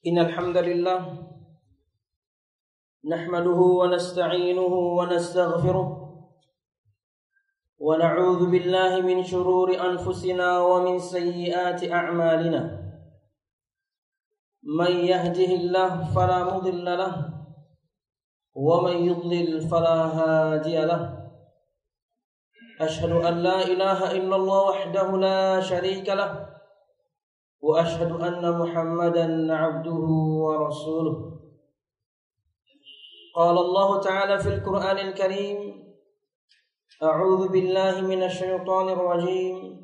Innal hamdalillah nahmaduhu wa nasta'inuhu wa nastaghfiruh wa na'udzu billahi min shururi anfusina wa min sayyiati a'malina. Man yahdihillahu fala mudilla lahu wa man yudlil fala hadiya lahu. Ashhadu an la ilaha illallah wahdahu la sharika lahu wa ashhadu anna Muhammadan 'abduhu wa rasuluh. Qala Allah Ta'ala fil Qur'anil Karim, A'udzu billahi minasy syaithanir rajim.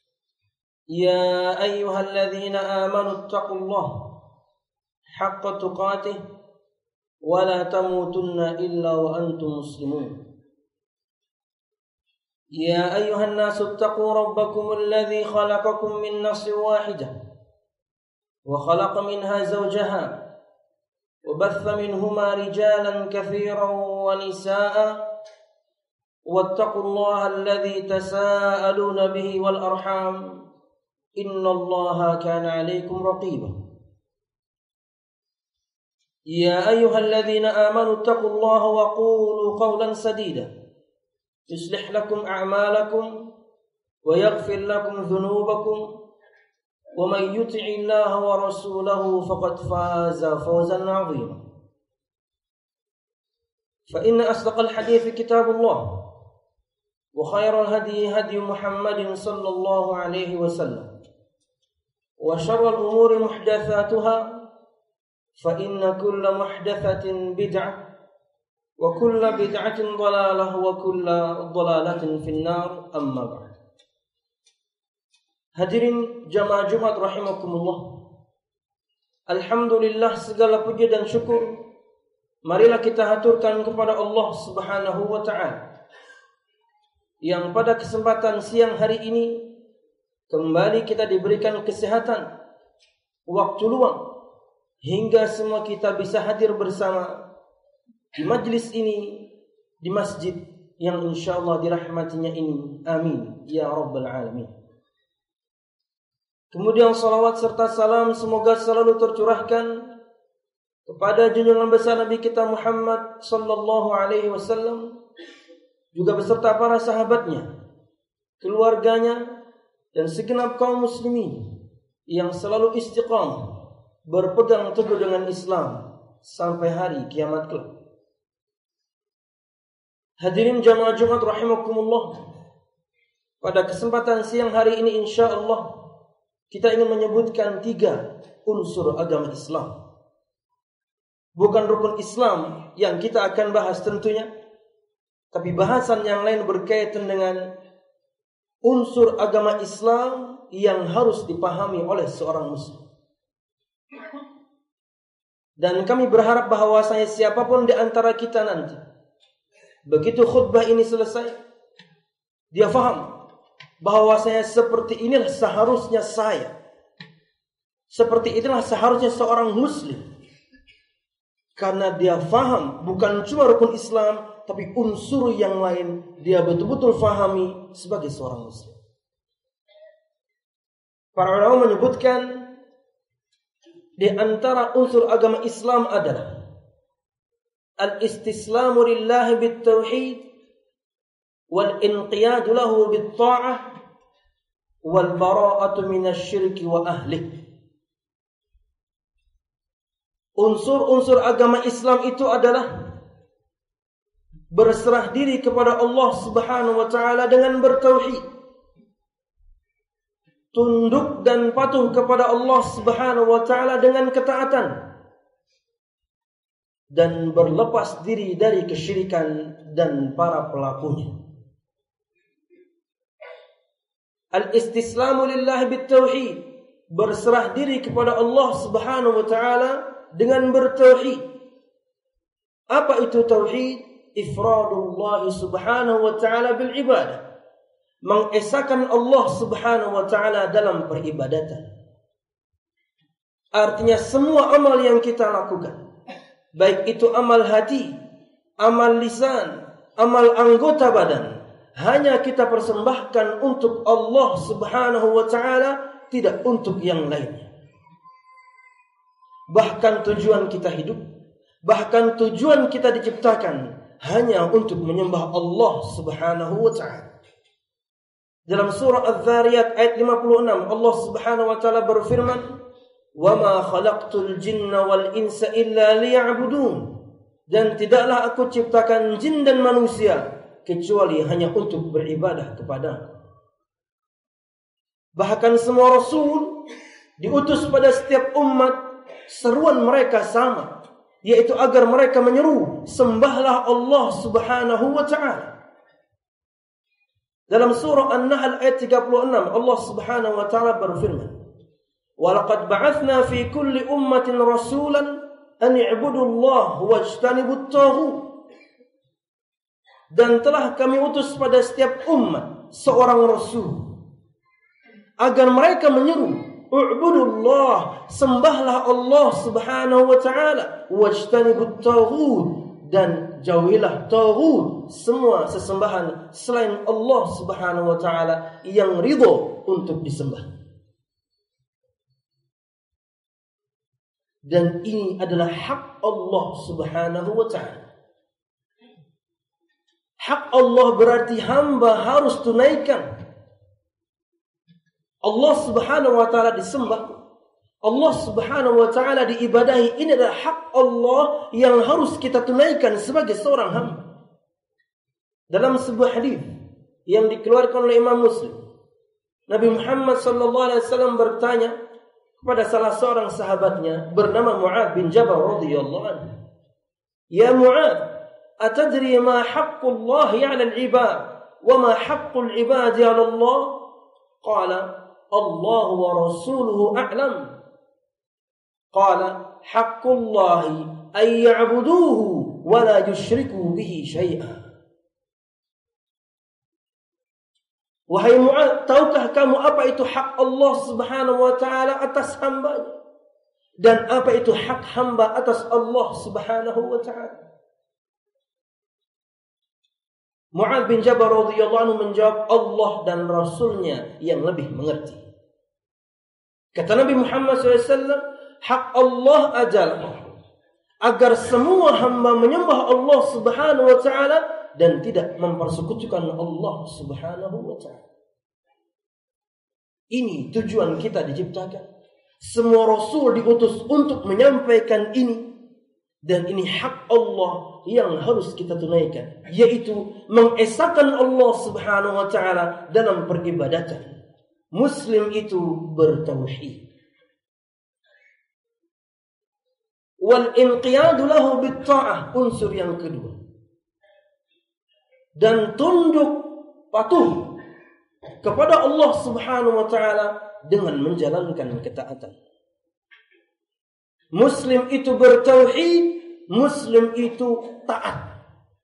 Ya ayyuhalladzina amanu taqullaha haqqa tuqatih wa la tamutunna illa wa antum muslimun. Ya ayyuhan nasu taqu rabbakumul ladzi khalaqakum min nafsin wahidah wa khalaqa minha zawjaha وبث منهما رجالا كثيرا ونساء واتقوا الله الذي تساءلون به والأرحام إن الله كان عليكم رقيبا. يا أيها الذين آمنوا اتقوا الله وقولوا قولا سديدا يصلح لكم أعمالكم ويغفر لكم ذنوبكم ومن يطع الله ورسوله فقد فاز فوزا عظيما. فإن أصدق الحديث كتاب الله وخير الهدي هدي محمد صلى الله عليه وسلم وشر الأمور محدثاتها فإن كل محدثة بدعة وكل بدعة ضلالة وكل ضلالة في النار. أما بعد. Hadirin jamaah Jumat rahimakumullah. Alhamdulillah, segala puji dan syukur marilah kita haturkan kepada Allah Subhanahu wa ta'ala yang pada kesempatan siang hari ini kembali kita diberikan kesehatan, waktu luang hingga semua kita bisa hadir bersama di majlis ini, di masjid yang insyaallah dirahmatinya ini. Amin ya rabbal alamin. Kemudian salawat serta salam semoga selalu tercurahkan kepada junjungan besar Nabi kita Muhammad sallallahu alaihi wasallam, juga beserta para sahabatnya, keluarganya, dan segenap kaum muslimin yang selalu istiqamah berpegang teguh dengan Islam sampai hari kiamat kelak. Hadirin jamaah Jumat rahimakumullah, pada kesempatan siang hari ini insyaallah kita ingin menyebutkan 3 unsur agama Islam. Bukan rukun Islam yang kita akan bahas tentunya, tapi bahasan yang lain berkaitan dengan unsur agama Islam yang harus dipahami oleh seorang muslim. Dan kami berharap bahwasanya siapapun di antara kita nanti, begitu khutbah ini selesai, dia faham bahwasanya seperti inilah seharusnya saya, seperti inilah seharusnya seorang muslim, karena dia faham bukan cuma rukun Islam, tapi unsur yang lain dia betul-betul fahami sebagai seorang muslim. Para ulama menyebutkan di antara unsur agama Islam adalah al-istislamu lillahi bit-tauhid wal inqiyadu lahu bit-ta'ah wal bara'atu minasyirki wa ahlih. Unsur-unsur agama Islam itu adalah berserah diri kepada Allah Subhanahu wa taala dengan bertauhid, tunduk dan patuh kepada Allah Subhanahu wa taala dengan ketaatan, dan berlepas diri dari kesyirikan dan para pelakunya. Al-istislamu lillahi bit-tauhid, berserah diri kepada Allah Subhanahu wa taala dengan bertauhid. Apa itu tauhid? Ifradullah Subhanahu wa taala bil ibadah, mengesahkan Allah Subhanahu wa taala dalam peribadatan. Artinya semua amal yang kita lakukan, baik itu amal hati, amal lisan, amal anggota badan, hanya kita persembahkan untuk Allah Subhanahu wa taala, tidak untuk yang lainnya. Bahkan tujuan kita hidup, bahkan tujuan kita diciptakan hanya untuk menyembah Allah Subhanahu wa ta'ala. Dalam surah Adz-Dzariyat ayat 56, Allah Subhanahu wa ta'ala berfirman, "Wa ma khalaqtul jinna wal insa illa liya'budun." Dan tidaklah aku ciptakan jin dan manusia kecuali hanya untuk beribadah kepada. Bahkan semua rasul diutus pada setiap umat, seruan mereka sama, yaitu agar mereka menyeru, sembahlah Allah Subhanahu wa ta'ala. Dalam surah An-Nahl ayat 36, Allah Subhanahu wa ta'ala berfirman, "Wa laqad ba'atsna fi kulli ummatin rasulan an i'budu Allah wajtanibut taghut." Dan telah kami utus pada setiap umat seorang rasul agar mereka menyeru, "U'budullah," sembahlah Allah Subhanahu wa ta'ala, "wajtanibut taghut," dan jauhilah taghut, semua sesembahan selain Allah Subhanahu wa ta'ala yang ridho untuk disembah. Dan ini adalah hak Allah Subhanahu wa ta'ala. Hak Allah berarti hamba harus tunaikan. Allah Subhanahu wa ta'ala disembah, Allah Subhanahu wa ta'ala diibadahi. Ini adalah hak Allah yang harus kita tunaikan sebagai seorang hamba. Dalam sebuah hadis yang dikeluarkan oleh Imam Muslim, Nabi Muhammad sallallahu alaihi wasallam bertanya kepada salah seorang sahabatnya bernama Mu'adz bin Jabal radhiyallahu anhu, "Ya Mu'adz, atadri ma haqqullah 'ala al-'ibad wa ma haqqul 'ibadi 'ala Allah?" Qala, "Allah wa rasuluhu a'lam." Qala, "Haqqullahi ay ya'buduhu wa la yusyriku bihi syai'an." Wahai Mu'adz, tahukah kamu apa itu hak Allah Subhanahu wa ta'ala atas hambanya? Dan apa itu hak hamba atas Allah Subhanahu wa ta'ala? Mu'adz bin Jabal radhiyallahu anhu menjawab, "Allah dan Rasulnya yang lebih mengerti." Kata Nabi Muhammad SAW, hak Allah adalah agar semua hamba menyembah Allah Subhanahu wa ta'ala dan tidak mempersekutukan Allah Subhanahu wa ta'ala. Ini tujuan kita diciptakan. Semua rasul diutus untuk menyampaikan ini. Dan ini hak Allah yang harus kita tunaikan, yaitu mengesahkan Allah Subhanahu wa ta'ala dalam peribadatan. Muslim itu bertauhid. Wal inqiyadu lahu bitta'ah, unsur yang kedua. Dan tunduk patuh kepada Allah Subhanahu wa ta'ala dengan menjalankan ketaatan. Muslim itu bertauhid, Muslim itu taat.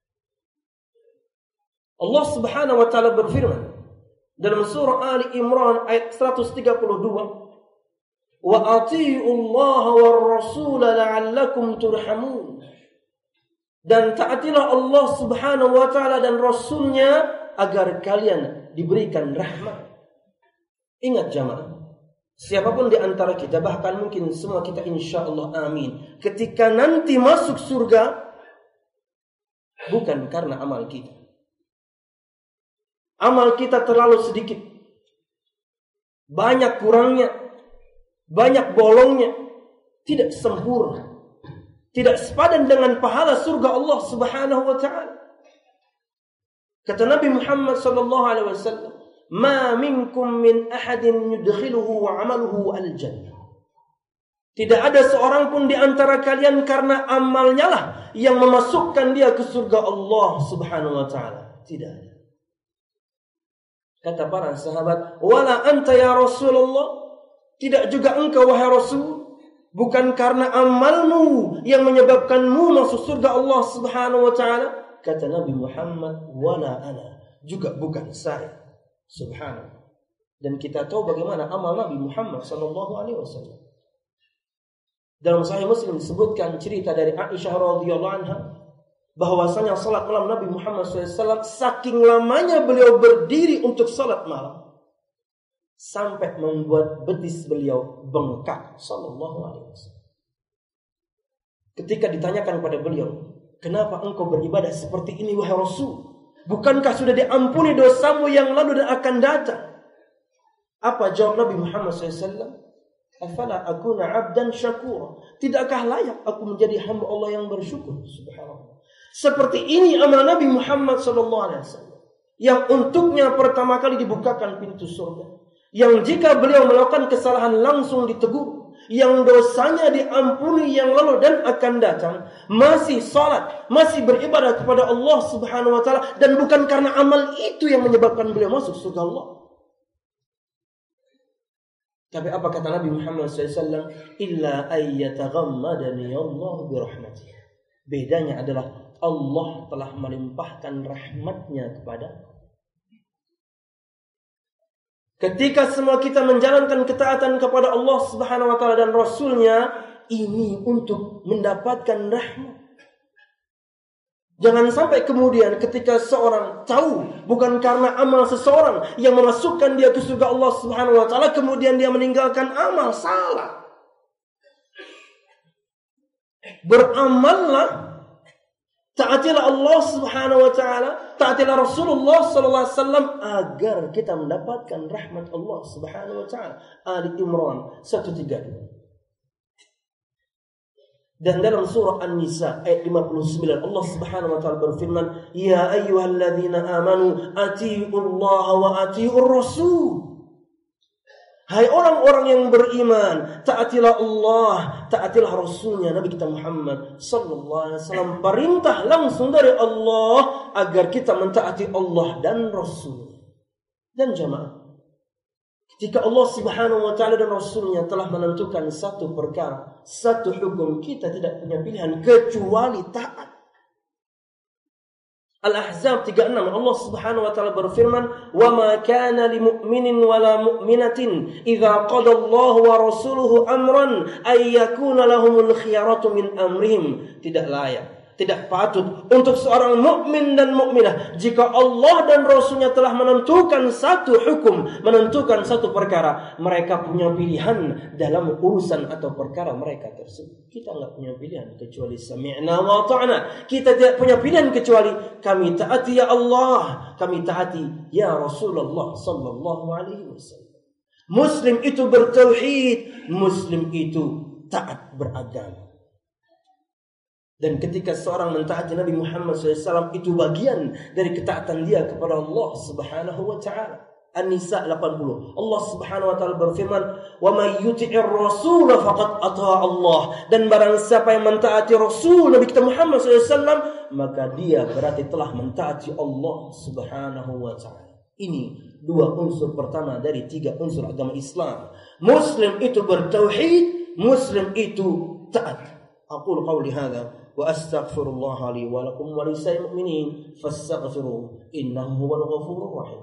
Allah Subhanahu wa ta'ala berfirman dalam surah Ali Imran ayat 132, "Wa atii'u Allah war rasul la'allakum turhamun." Dan taatilah Allah Subhanahu wa ta'ala dan Rasulnya agar kalian diberikan rahmat. Ingat jamaah, siapapun di antara kita, bahkan mungkin semua kita insyaallah amin, ketika nanti masuk surga, bukan karena amal kita. Amal kita terlalu sedikit, banyak kurangnya, banyak bolongnya, tidak sempurna, tidak sepadan dengan pahala surga Allah Subhanahu wa ta'ala. Kata Nabi Muhammad sallallahu alaihi wasallam, "Ma minkum min ahadin yudkhiluhu 'amaluhu al-jannah." Tidak ada seorang pun di antara kalian karena amalnya lah yang memasukkan dia ke surga Allah Subhanahu wa ta'ala. Tidak ada. Kata para sahabat, "Wala anta ya Rasulullah?" Tidak juga engkau wahai Rasul? Bukan karena amalmu yang menyebabkanmu masuk surga Allah Subhanahu wa ta'ala? Kata Nabi Muhammad, "Wala ana." Juga bukan saya. Subhanallah. Dan kita tahu bagaimana amal Nabi Muhammad sallallahu alaihi wasallam. Dalam Sahih Muslim disebutkan cerita dari Aisyah radhiyallahu anha bahwasanya salat malam Nabi Muhammad SAW, saking lamanya beliau berdiri untuk salat malam sampai membuat betis beliau bengkak sallallahu alaihi wasallam. ketika ditanyakan pada beliau, kenapa engkau beribadah seperti ini wahai Rasul? Bukankah sudah diampuni dosamu yang lalu dan akan datang? Apa jawab Nabi Muhammad SAW? Afala akuna abdan syakura. Tidakkah layak aku menjadi hamba Allah yang bersyukur? Subhanallah. Seperti ini amal Nabi Muhammad SAW, yang untuknya pertama kali dibukakan pintu surga, yang jika beliau melakukan kesalahan langsung ditegur, yang dosanya diampuni yang lalu dan akan datang, masih salat, masih beribadah kepada Allah Subhanahu wa taala, dan bukan karena amal itu yang menyebabkan beliau masuk surga Allah. Tapi apa kata Nabi Muhammad SAW? Illa ayyataghammadani Allah birahmatih. Bedanya adalah Allah telah melimpahkan rahmatnya kepada. Ketika semua kita menjalankan ketaatan kepada Allah Subhanahu wa taala dan Rasulnya, ini untuk mendapatkan rahmat. Jangan sampai kemudian ketika seorang tahu bukan karena amal seseorang yang memasukkan dia ke surga Allah Subhanahu wa taala, kemudian dia meninggalkan amal. Salah. Beramallah, taatilah Allah Subhanahu wa taala, taatilah Rasulullah sallallahu alaihi wasallam agar kita mendapatkan rahmat Allah Subhanahu wa taala. Ali Imran 132. Dan dalam surah An-Nisa ayat 59 Allah Subhanahu wa taala berfirman, "Ya ayyuhalladzina amanu atiiullaha wa atiiur rasul." Hai orang-orang yang beriman, taatilah Allah, taatilah Rasulnya Nabi kita Muhammad sallallahu alaihi wasallam. Perintah langsung dari Allah agar kita mentaati Allah dan Rasul. Dan jamaah, ketika Allah Subhanahu wa taala dan Rasulnya telah menentukan satu perkara, satu hukum, kita tidak punya pilihan kecuali taat. Al-Ahzab 36 Allah Subhanahu wa taala berfirman, "Wa ma kana lil mu'minin wa la mu'minatin idza qada Allahu wa rasuluhu amran ay yakuna lahumul khiyaratu min amrihim." Tidak layak, tidak patut untuk seorang mukmin dan mukminah jika Allah dan Rasulnya telah menentukan satu hukum, menentukan satu perkara, mereka punya pilihan dalam urusan atau perkara mereka tersebut. Kita enggak punya pilihan kecuali sami'na wa ta'na. Kita tidak punya pilihan kecuali kami taati ya Allah, kami taati ya Rasulullah sallallahu alaihi wasallam. Muslim itu bertauhid, Muslim itu taat beragama. Dan ketika seorang mentaati Nabi Muhammad SAW, itu bagian dari ketaatan dia kepada Allah Subhanahu wa taala. An-Nisa 80 Allah Subhanahu wa taala berfirman, "Wa may yuti'ir rasul faqad ata'a Allah." Dan barang siapa yang mentaati Rasul Nabi kita Muhammad SAW, maka dia berarti telah mentaati Allah Subhanahu wa taala. Ini dua unsur pertama dari tiga unsur agama Islam. Muslim itu bertauhid, Muslim itu taat. Aqulu qawli hadza wa astaghfirullah li wa lakum wa lisa'il mu'minin fastaghfiruhu innahu huwal ghafurur rahim.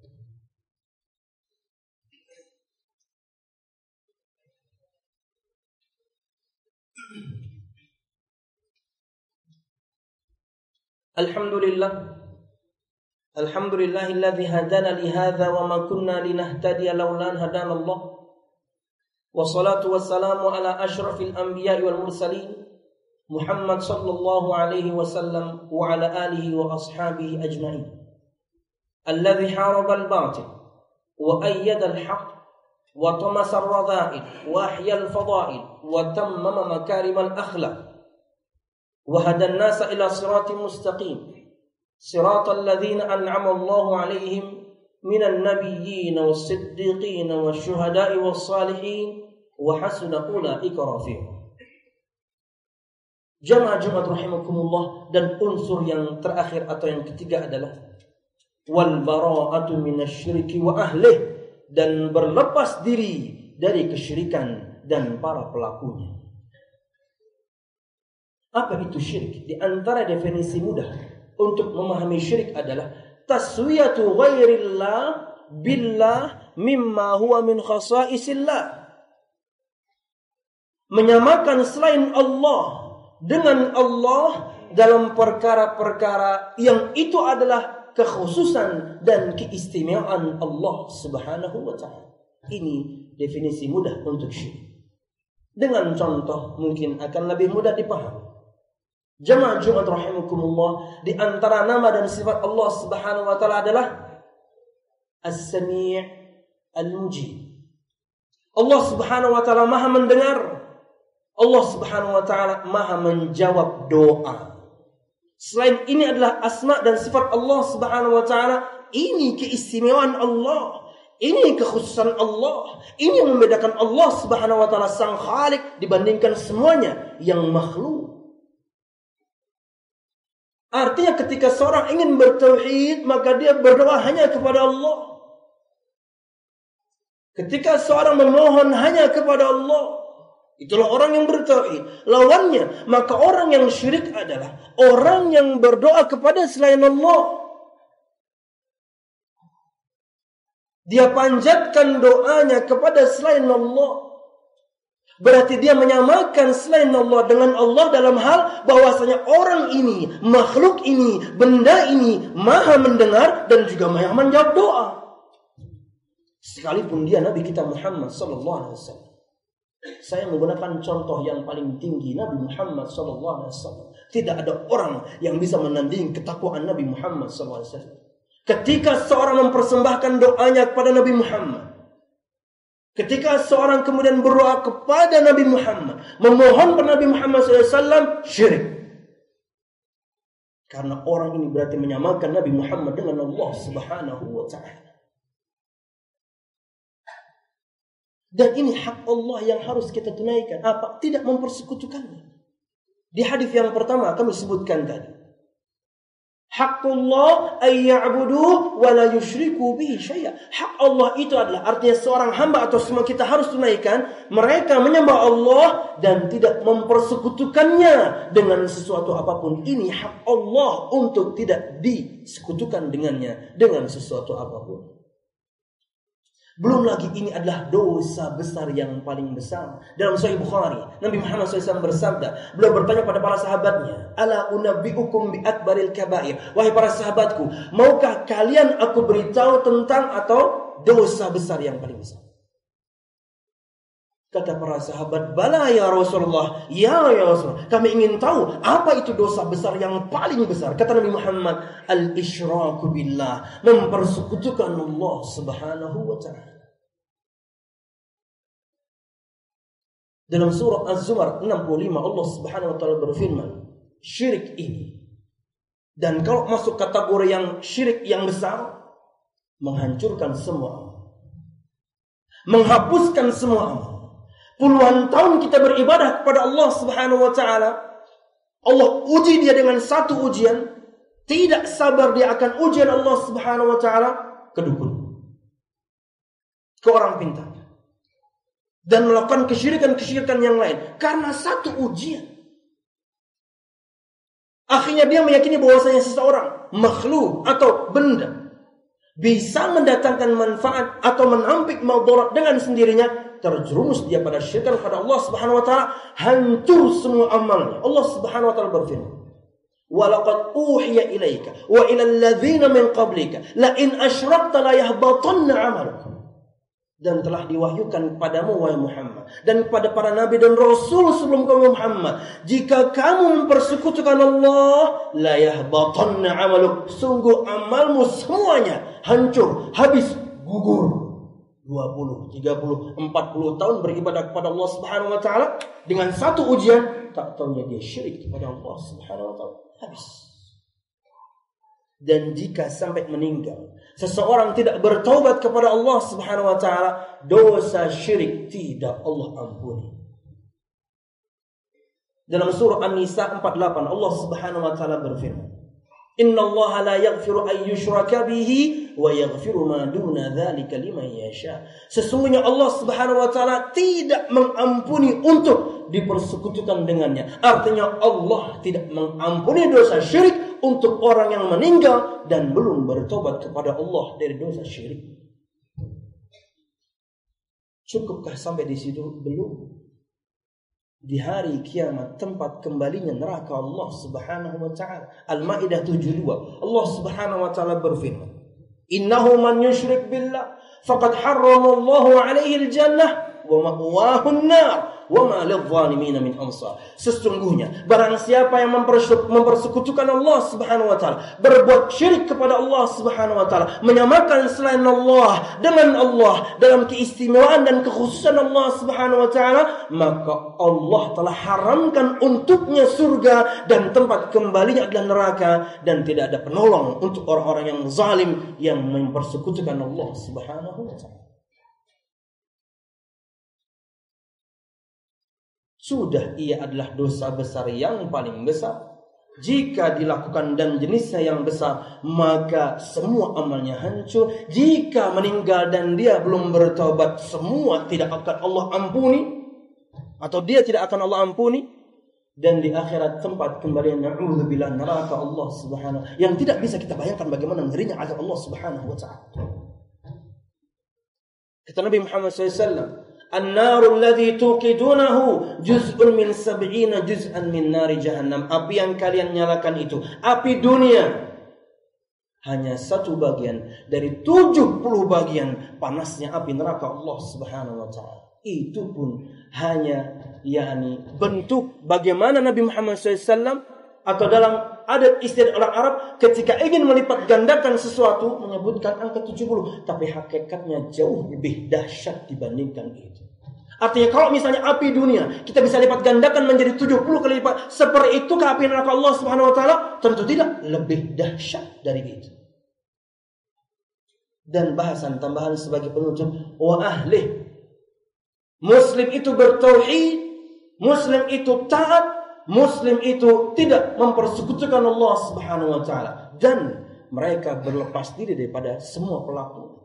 Alhamdulillahilladzi hadana li hadza wa ma kunna linahtadiya laula an hadana Allah. Wassalatu wassalamu ala asyrafil anbiya'i wal mursalin Muhammad sallallahu alaihi wasallam wa ala alihi wa ashabihi ajma'in. Alladhi haraba al-batil wa ayyada al-haq wa tamasa ar-radha'il wa ahya al-fada'il wa tammama makarim al-akhlaq wa hada an-nasa ila siratin mustaqim siratal ladzina an'ama Allahu 'alaihim minan nabiyyin was-siddiqin wasyuhada'i was-salihin wa hasuna ulaika rafiqa. Jamaah Jumat rahimakumullah, dan unsur yang terakhir atau yang ketiga adalah wal bara'atu minasyirki wa ahlih, dan berlepas diri dari kesyirikan dan para pelakunya. Apa itu syirik? Di antara definisi mudah untuk memahami syirik adalah taswiyatu ghairillah billah mimma huwa min khasaisillah. Menyamakan selain Allah dengan Allah dalam perkara-perkara yang itu adalah kekhususan dan keistimewaan Allah Subhanahu wa taala. Ini definisi mudah untuk syirik. Dengan contoh mungkin akan lebih mudah dipahami. Jamaah Jumat rahimakumullah, di antara nama dan sifat Allah Subhanahu wa taala adalah As-Sami' Al-Mujib. Allah Subhanahu wa taala Maha mendengar. Allah Subhanahu wa taala Maha menjawab doa. Selain ini adalah asma dan sifat Allah Subhanahu wa taala. Ini keistimewaan Allah. Ini kekhususan Allah. Ini yang membedakan Allah Subhanahu wa taala sang Khalik dibandingkan semuanya yang makhluk. Artinya ketika seorang ingin bertauhid, maka dia berdoa hanya kepada Allah. Ketika seorang memohon hanya kepada Allah, itulah orang yang bertauhid. Lawannya, maka orang yang syirik adalah orang yang berdoa kepada selain Allah. Dia panjatkan doanya kepada selain Allah. Berarti dia menyamakan selain Allah dengan Allah dalam hal bahwasanya orang ini, makhluk ini, benda ini Maha mendengar dan juga Maha menjawab doa. Sekalipun dia Nabi kita Muhammad sallallahu alaihi wasallam. Saya menggunakan contoh yang paling tinggi, Nabi Muhammad sallallahu alaihi wasallam. Tidak ada orang yang bisa menandingi ketakwaan Nabi Muhammad sallallahu alaihi wasallam. Ketika seorang mempersembahkan doanya kepada Nabi Muhammad, ketika seorang kemudian berdoa kepada Nabi Muhammad, memohon kepada Nabi Muhammad SAW, syirik. Karena orang ini berarti menyamakan Nabi Muhammad dengan Allah Subhanahu wa ta'ala. Dan ini hak Allah yang harus kita tunaikan. Apa? Tidak mempersekutukannya. Di hadis yang pertama kami sebutkan tadi. Haqqullah ayya'budu wa la yusyriku bihi syai'a. Hak Allah itu adalah artinya seorang hamba atau semua kita harus tunaikan. Mereka menyembah Allah dan tidak mempersekutukannya dengan sesuatu apapun. Ini hak Allah untuk tidak disekutukan dengannya dengan sesuatu apapun. Belum lagi ini adalah dosa besar yang paling besar. Dalam Sahih Bukhari, Nabi Muhammad SAW bersabda, beliau bertanya pada para sahabatnya, Ala unabbi'ukum bi akbaril kabair. Wahai para sahabatku, maukah kalian aku beritahu tentang atau dosa besar yang paling besar? Kata para sahabat, bala ya Rasulullah, ya Rasulullah, kami ingin tahu apa itu dosa besar yang paling besar. Kata Nabi Muhammad, al-isyraku billah, mempersekutukan Allah Subhanahu wa ta'ala. Dalam surah Az-Zumar 65 Allah Subhanahu wa ta'ala berfirman, syirik ini, dan kalau masuk kategori yang syirik yang besar, menghancurkan semua amal, menghapuskan semua amal. Puluhan tahun kita beribadah kepada Allah Subhanahu wa ta'ala. Allah uji dia dengan satu ujian. Tidak sabar dia akan ujian Allah Subhanahu wa ta'ala ke dukun, ke orang pintar, dan melakukan kesyirikan-kesyirikan yang lain karena satu ujian. Akhirnya dia meyakini bahwasanya seseorang, makhluk atau benda bisa mendatangkan manfaat atau menampik madarat dengan sendirinya. Terjerumus dia pada syirik kepada Allah Subhanahu wa ta'ala, hancur semua amalnya. Allah Subhanahu wa ta'ala berfirman, wa laqad uhiya ilaika wa ila alladzina min qablika la in asyrakta la yahbatanna 'amalukum. Dan telah diwahyukan kepadamu wahai Muhammad dan kepada para nabi dan rasul sebelum kamu Muhammad, jika kamu mempersekutukan Allah, la yahbatanna 'amaluk, sungguh amalmu semuanya hancur, habis, gugur. 20, 30, 40 tahun beribadah kepada Allah Subhanahu wa ta'ala dengan satu ujian, tak tahunya dia syirik kepada Allah Subhanahu wa ta'ala, habis. Dan jika sampai meninggal seseorang tidak bertaubat kepada Allah Subhanahu wa ta'ala, dosa syirik tidak Allah ampuni. Dalam surah An-Nisa 48 Allah Subhanahu wa ta'ala berfirman, Inna Allah la yaghfiru an yushraka bihi wa yaghfiru ma duna dzalika liman yasha. Sesungguhnya Allah Subhanahu wa taala tidak mengampuni untuk dipersekutukan dengannya. Artinya Allah tidak mengampuni dosa syirik untuk orang yang meninggal dan belum bertobat kepada Allah dari dosa syirik. Cukupkah sampai di situ? Belum. Di hari kiamat tempat kembalinya neraka Allah Subhanahu wa ta'ala. Al-Maidah 72 Allah Subhanahu wa ta'ala berfirman, Innahu man yushrik billah faqad harrama Allahu alaihi al-jannah wa ma'wahun nar wa ma lidh-dhalimin min ansar. Sesungguhnya barang siapa yang mempersekutukan Allah Subhanahu wa taala, berbuat syirik kepada Allah Subhanahu wa taala, menyamakan selain Allah dengan Allah dalam keistimewaan dan kekhususan Allah Subhanahu wa taala, maka Allah telah haramkan untuknya surga dan tempat kembalinya adalah neraka, dan tidak ada penolong untuk orang-orang yang zalim yang mempersekutukan Allah Subhanahu wa taala. Sudah ia adalah dosa besar yang paling besar. Jika dilakukan dan jenisnya yang besar, maka semua amalnya hancur. Jika meninggal dan dia belum bertobat, semua tidak akan Allah ampuni, atau dia tidak akan Allah ampuni. Dan di akhirat tempat kembalian, na'udzubillah, neraka Allah Subhanahu, yang tidak bisa kita bayangkan bagaimana ngerinya azab Allah Subhanahu wa ta'ala. Kata Nabi Muhammad SAW, An-naru alladhi tuqidunahu juz'un min 70 juz'an min nari jahannam. Api yang kalian nyalakan itu, api dunia, hanya satu bagian dari 70 bagian panasnya api neraka Allah Subhanahu wa ta'ala. Itu pun hanya bentuk bagaimana Nabi Muhammad SAW, atau dalam adat istiadat orang Arab ketika ingin melipat gandakan sesuatu menyebutkan angka 70, tapi hakikatnya jauh lebih dahsyat dibandingkan itu. Artinya kalau misalnya api dunia kita bisa lipat gandakan menjadi 70 kali lipat, seperti itu ke api neraka Allah Subhanahu wa taala? Tentu tidak, lebih dahsyat dari itu. Dan bahasan tambahan sebagai penutup, wa ahli, Muslim itu bertauhid, Muslim itu taat, Muslim itu tidak mempersekutukan Allah Subhanahu wa taala, dan mereka berlepas diri daripada semua pelaku.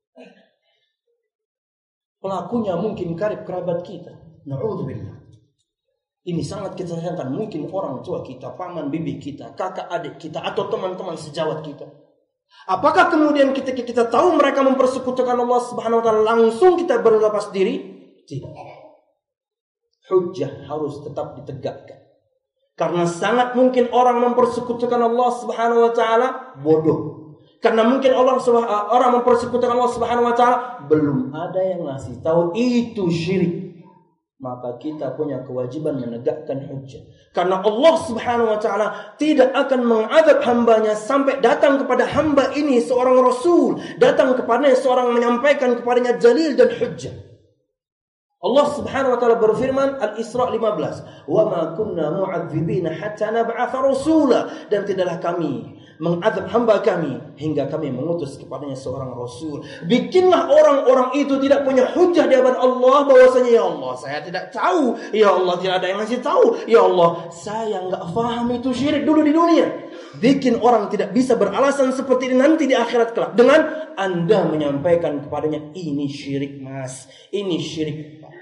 Pelakunya mungkin karib kerabat kita. Na'udzubillah. Ini sangat kita sayangkan, mungkin orang tua kita, paman bibi kita, kakak adik kita, atau teman-teman sejawat kita. Apakah kemudian ketika kita tahu mereka mempersekutukan Allah Subhanahu wa taala langsung kita berlepas diri? Tidak. Hujjah harus tetap ditegakkan. Karena sangat mungkin orang mempersekutukan Allah Subhanahu wa taala bodoh. Karena mungkin orang mempersekutukan Allah Subhanahu wa taala belum ada yang ngasih tahu itu syirik. Maka kita punya kewajiban menegakkan hujjah. Karena Allah Subhanahu wa taala tidak akan mengadab hambanya sampai datang kepada hamba ini seorang rasul, datang kepadanya seorang menyampaikan kepadanya dalil dan hujjah. Allah Subhanahu wa taala berfirman, Al-Isra 15, "Wa ma kunna mu'adzibina hatta nab'atha rasula," dan tidaklah kami mengadab hamba kami hingga kami mengutus kepadanya seorang rasul. Bikinlah orang-orang itu tidak punya hujjah di hadapan Allah bahwasanya, ya Allah, saya tidak tahu, ya Allah, tidak ada yang ngasih tahu, ya Allah, saya enggak paham itu syirik dulu di dunia. Bikin orang tidak bisa beralasan seperti ini nanti di akhirat kelak dengan Anda menyampaikan kepadanya, ini syirik mas, ini syirik pak,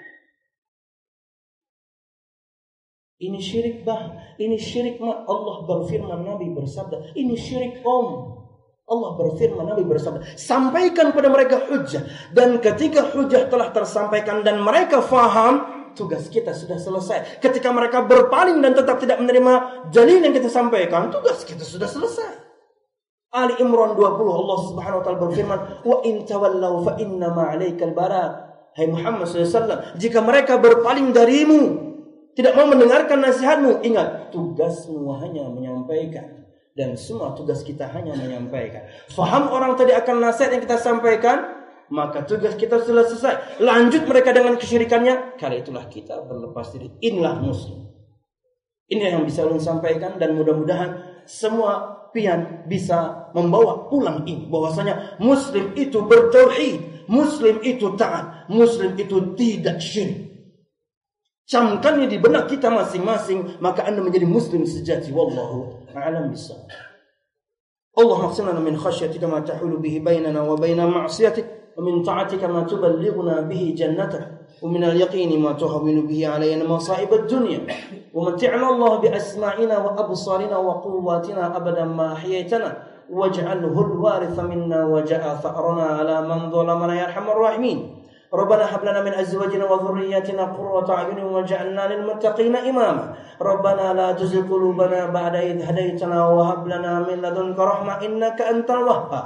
ini syirik bah, ini syirik mak. Allah berfirman, Nabi bersabda, ini syirik om. Allah berfirman, Nabi bersabda, sampaikan pada mereka hujjah. Dan ketika hujjah telah tersampaikan dan mereka faham, tugas kita sudah selesai. Ketika mereka berpaling dan tetap tidak menerima dalil yang kita sampaikan, tugas kita sudah selesai. Ali Imran 20, Allah Subhanahu wa taala berfirman, wa in tawallaw fa inna ma 'alaikal balagh. Hai Muhammad SAW, jika mereka berpaling darimu, tidak mau mendengarkan nasihatmu, ingat, tugasmu hanya menyampaikan. Dan semua tugas kita hanya menyampaikan. Faham orang tadi akan nasihat yang kita sampaikan, maka tugas kita sudah selesai. Lanjut mereka dengan kesyirikannya, kali itulah kita berlepas diri. Inilah Muslim. Ini yang bisa ulun sampaikan, dan mudah-mudahan semua pian bisa membawa pulang ini, bahwasanya Muslim itu bertauhid, Muslim itu taat, Muslim itu tidak syirik. Camkannya di benak kita masing-masing, maka Anda menjadi Muslim sejati. Wallahu a'lam bishawab. Allahumma qsim lana min khashyatika ma tahulu bihi bainana wa baina ma'siyatik, wa min ta'atika ma tuballighuna bihi jannatak, wa min al-yaqini ma tuhawwinu bihi alayna masa'ib ad-dunya, wa mat'ina Allah bi asma'ina wa absarina wa quwwatina abadan ma ahyaytana, waj'alhu al-waritha minna waj'al tha'rana ala man zalamana ya arhamar rahimin. Rabbana hab lana min azwajina wa dhurriyyatina qurrata a'yunin waj'alna lil muttaqina imama. Rabbana la tuzigh qulubana ba'da idh hadaytana wa hab lana min ladunka rahmah innaka antal wahhab.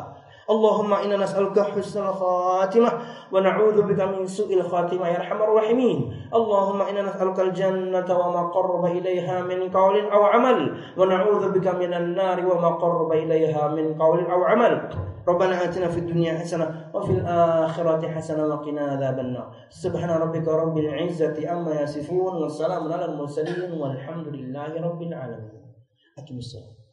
Allahumma inna nas'aluka husnal khatimah wa na'udzu bika min su'il khatimah ya arhamar rahimin. Allahumma inna nas'aluka al-jannata wa ma qarraba ilaiha min qawlin aw amal wa na'udzu bika minan nari wa ma qarraba ilaiha min qawlin aw amal. Rabbana atina fid dunya hasanah wa fil akhirati hasanah wa qina adzabannar. Subhana rabbika rabbil izzati amma yasifun wa salamun alal mursalin walhamdulillahi rabbil alamin. Aqimissalam.